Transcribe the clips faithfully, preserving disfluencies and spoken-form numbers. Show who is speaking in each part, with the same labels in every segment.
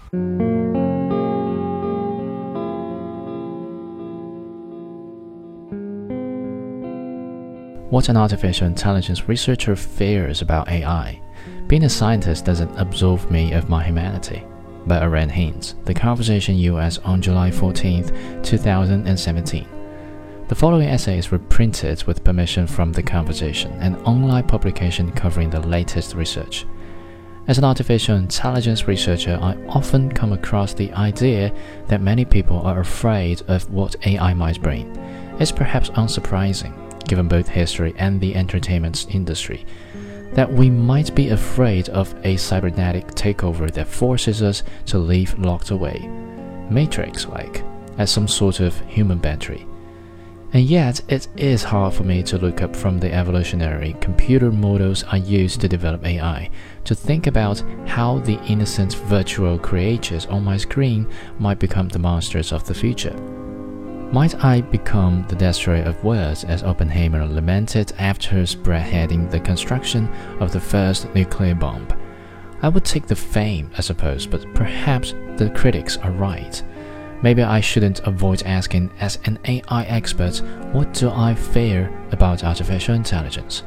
Speaker 1: What an artificial intelligence researcher fears about A I. Being a scientist doesn't absolve me of my humanity. By Aaron Haynes, The Conversation U S on July fourteenth, two thousand seventeen. The following essays were printed with permission from The Conversation, an online publication covering the latest research. As an artificial intelligence researcher, I often come across the idea that many people are afraid of what A I might bring. It's perhaps unsurprising, given both history and the entertainment industry, that we might be afraid of a cybernetic takeover that forces us to live locked away, Matrix-like, as some sort of human battery. And yet, it is hard for me to look up from the evolutionary computer models I used to develop A I, to think about how the innocent virtual creatures on my screen might become the monsters of the future. Might I become the destroyer of worlds, as Oppenheimer lamented after spearheading the construction of the first nuclear bomb? I would take the fame, I suppose, but perhaps the critics are right. Maybe I shouldn't avoid asking, as an A I expert, what do I fear about artificial intelligence?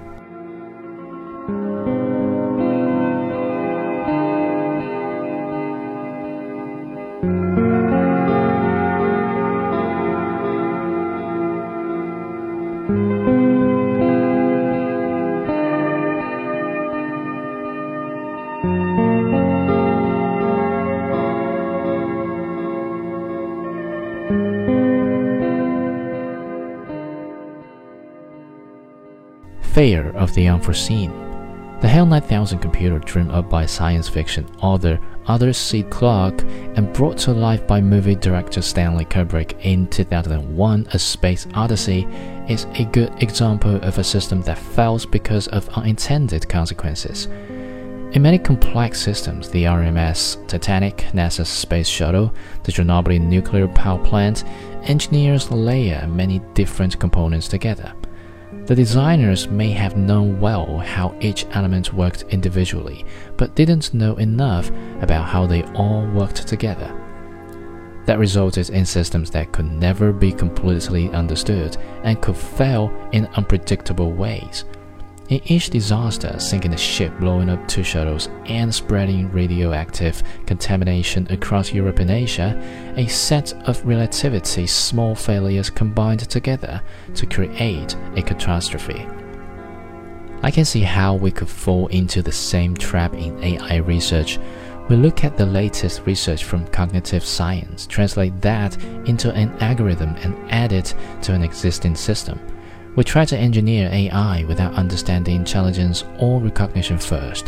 Speaker 1: Fear of the unforeseen. The HAL nine thousand computer, dreamed up by science fiction author Arthur C. Clarke and brought to life by movie director Stanley Kubrick in two thousand one, A Space Odyssey, is a good example of a system that fails because of unintended consequences. In many complex systems, the R M S Titanic, NASA's space shuttle, the Chernobyl nuclear power plant, engineers layer many different components together. The designers may have known well how each element worked individually, but didn't know enough about how they all worked together. That resulted in systems that could never be completely understood and could fail in unpredictable ways. In each disaster, sinking a ship, blowing up two shuttles, and spreading radioactive contamination across Europe and Asia, a set of relatively small failures combined together to create a catastrophe. I can see how we could fall into the same trap in A I research. We look at the latest research from cognitive science, translate that into an algorithm and add it to an existing system. We try to engineer A I without understanding intelligence or recognition first.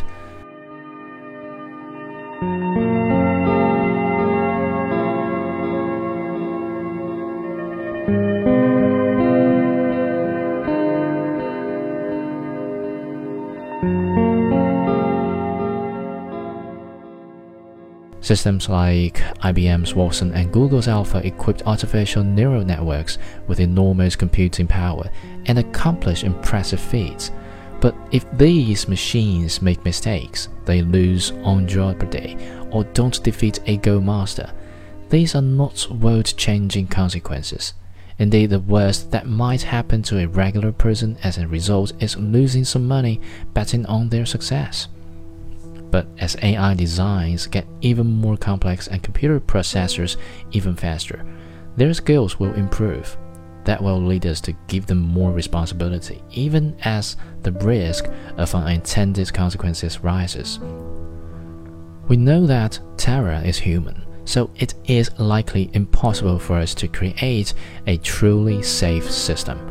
Speaker 1: Systems like I B M's Watson and Google's Alpha equipped artificial neural networks with enormous computing power and accomplish impressive feats. But if these machines make mistakes, they lose on Jeopardy, or don't defeat a Go master, these are not world-changing consequences. Indeed, the worst that might happen to a regular person as a result is losing some money betting on their success. But as A I designs get even more complex and computer processors even faster, their skills will improve. That will lead us to give them more responsibility, even as the risk of unintended consequences rises. We know that terror is human, so it is likely impossible for us to create a truly safe system.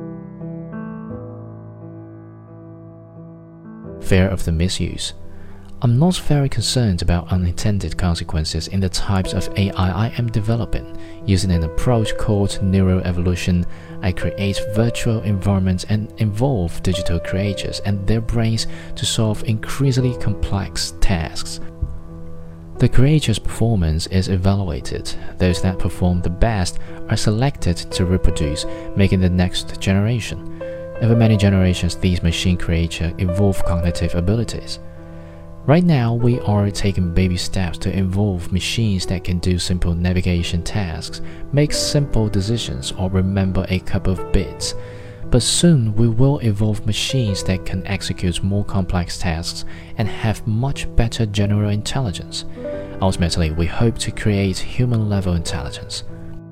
Speaker 1: Fear of the misuse. I'm not very concerned about unintended consequences in the types of A I I am developing. Using an approach called neuroevolution, I create virtual environments and involve digital creators and their brains to solve increasingly complex tasks. The creature's performance is evaluated. Those that perform the best are selected to reproduce, making the next generation. Over many generations, these machine creatures evolve cognitive abilities. Right now, we are taking baby steps to involve machines that can do simple navigation tasks, make simple decisions, or remember a couple of bits. But soon, we will evolve machines that can execute more complex tasks and have much better general intelligence. Ultimately, we hope to create human-level intelligence.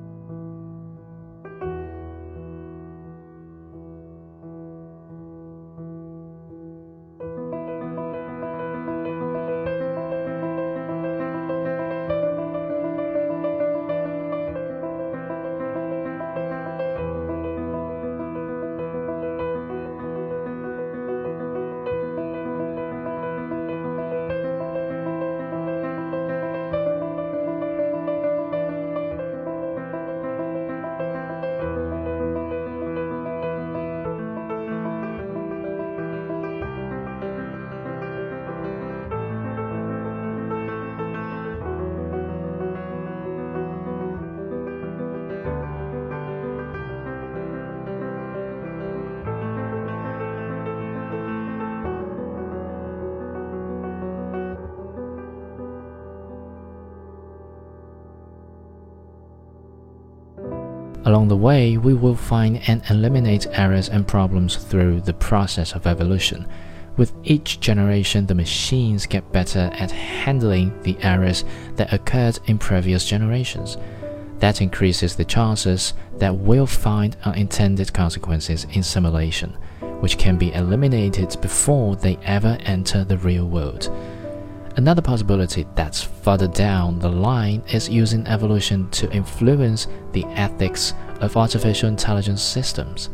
Speaker 1: Along the way, we will find and eliminate errors and problems through the process of evolution. With each generation, the machines get better at handling the errors that occurred in previous generations. That increases the chances that we'll find unintended consequences in simulation, which can be eliminated before they ever enter the real world. Another possibility that's further down the line is using evolution to influence the ethics of artificial intelligence systems.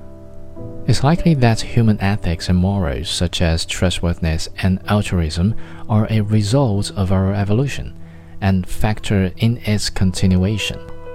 Speaker 1: It's likely that human ethics and morals, such as trustworthiness and altruism, are a result of our evolution and factor in its continuation.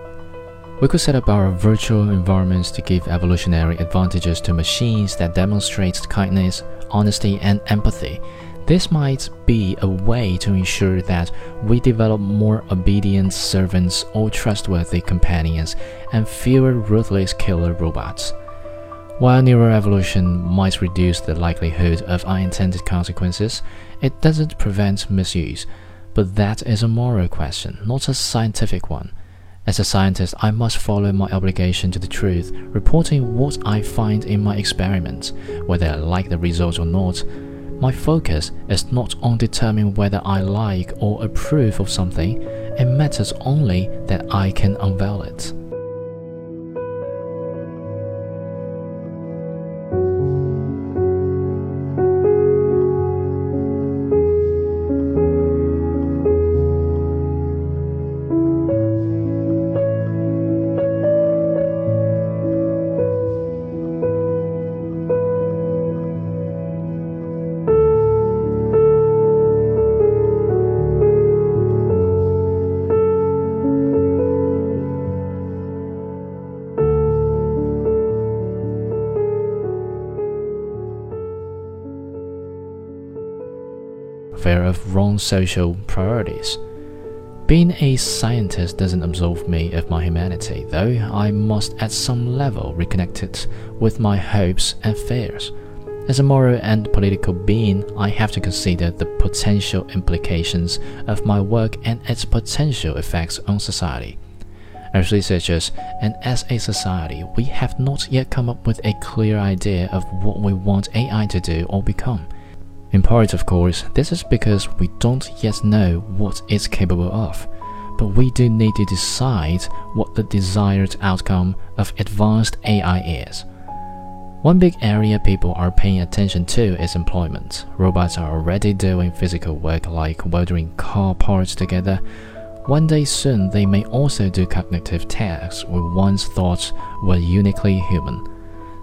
Speaker 1: We could set up our virtual environments to give evolutionary advantages to machines that demonstrate kindness, honesty, and empathy. This might be a way to ensure that we develop more obedient servants or trustworthy companions and fewer ruthless killer robots. While neuroevolution might reduce the likelihood of unintended consequences, it doesn't prevent misuse. But that is a moral question, not a scientific one. As a scientist, I must follow my obligation to the truth, reporting what I find in my experiments, whether I like the results or not. My focus is not on determining whether I like or approve of something. It matters only that I can unveil it. Fear of wrong social priorities. Being a scientist doesn't absolve me of my humanity, though I must at some level reconnect it with my hopes and fears. As a moral and political being, I have to consider the potential implications of my work and its potential effects on society. As researchers and as a society, we have not yet come up with a clear idea of what we want A I to do or become. In part, of course, this is because we don't yet know what it's capable of, but we do need to decide what the desired outcome of advanced A I is. One big area people are paying attention to is employment. Robots are already doing physical work like welding car parts together. One day soon, they may also do cognitive tasks we once thought were uniquely human.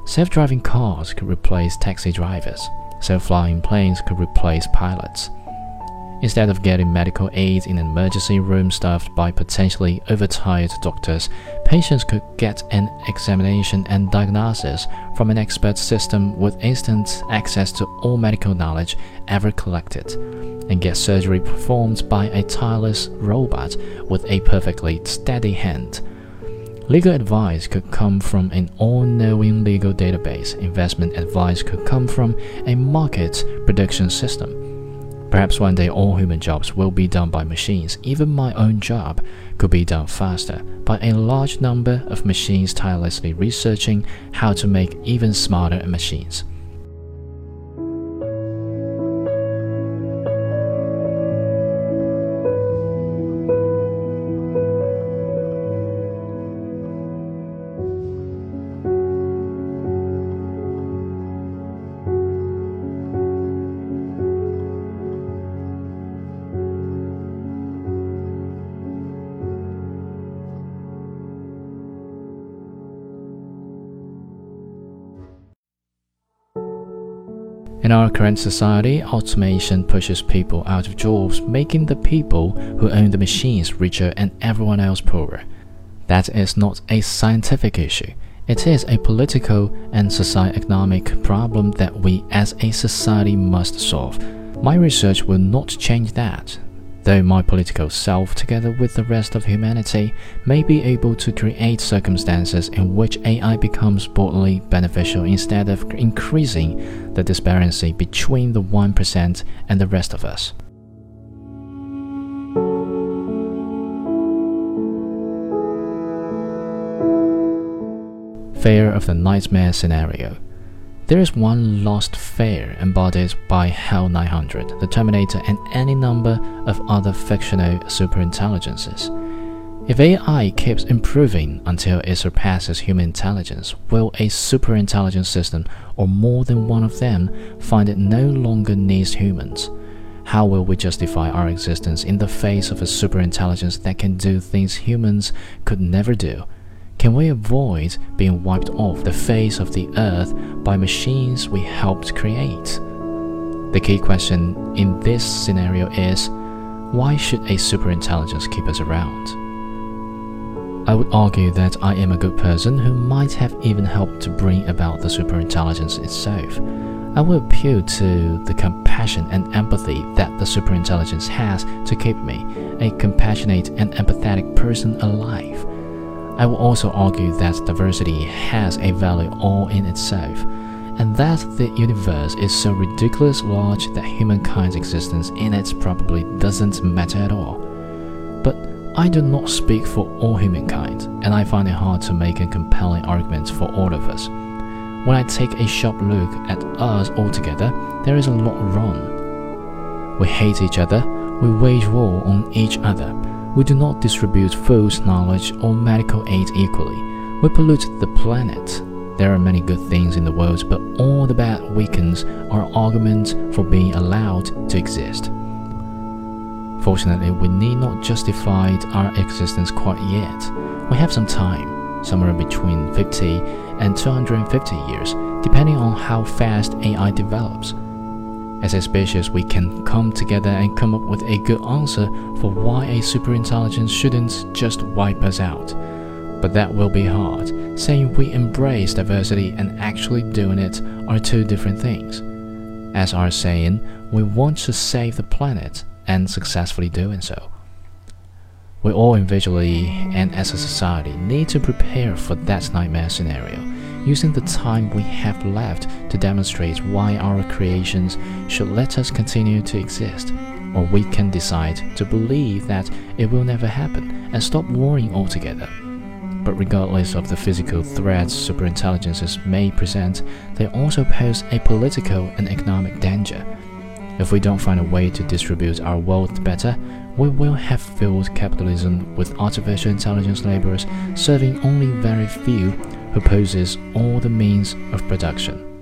Speaker 1: Self-driving cars could replace taxi drivers. Self-flying planes could replace pilots. Instead of getting medical aid in an emergency room staffed by potentially overtired doctors, patients could get an examination and diagnosis from an expert system with instant access to all medical knowledge ever collected, and get surgery performed by a tireless robot with a perfectly steady hand. Legal advice could come from an all-knowing legal database. Investment advice could come from a market prediction system. Perhaps one day all human jobs will be done by machines. Even my own job could be done faster by a large number of machines tirelessly researching how to make even smarter machines. In our current society, automation pushes people out of jobs, making the people who own the machines richer and everyone else poorer. That is not a scientific issue. It is a political and socio-economic problem that we as a society must solve. My research will not change that, though my political self, together with the rest of humanity, may be able to create circumstances in which A I becomes broadly beneficial instead of increasing the disparity between the one percent and the rest of us. Fear of the nightmare scenario. There is one lost fear embodied by HAL nine hundred, the Terminator, and any number of other fictional superintelligences. If A I keeps improving until it surpasses human intelligence, will a superintelligent system, or more than one of them, find it no longer needs humans? How will we justify our existence in the face of a superintelligence that can do things humans could never do? Can we avoid being wiped off the face of the earth by machines we helped create? The key question in this scenario is, why should a superintelligence keep us around? I would argue that I am a good person who might have even helped to bring about the superintelligence itself. I will appeal to the compassion and empathy that the superintelligence has to keep me, a compassionate and empathetic person, alive. I will also argue that diversity has a value all in itself, and that the universe is so ridiculously large that humankind's existence in it probably doesn't matter at all. But I do not speak for all humankind, and I find it hard to make a compelling argument for all of us. When I take a sharp look at us all together, there is a lot wrong. We hate each other, we wage war on each other. We do not distribute food, knowledge, or medical aid equally. We pollute the planet. There are many good things in the world, but all the bad weakens our argument for being allowed to exist. Fortunately, we need not justify our existence quite yet. We have some time, somewhere between fifty and two hundred fifty years, depending on how fast A I develops. As a species, we can come together and come up with a good answer for why a superintelligence shouldn't just wipe us out. But that will be hard. Saying we embrace diversity and actually doing it are two different things. As our saying, we want to save the planet and successfully doing so. We all individually and as a society need to prepare for that nightmare scenario, using the time we have left to demonstrate why our creations should let us continue to exist, or we can decide to believe that it will never happen and stop worrying altogether. But regardless of the physical threats superintelligences may present, they also pose a political and economic danger. If we don't find a way to distribute our wealth better, we will have filled capitalism with artificial intelligence laborers serving only very few who possess all the means of production.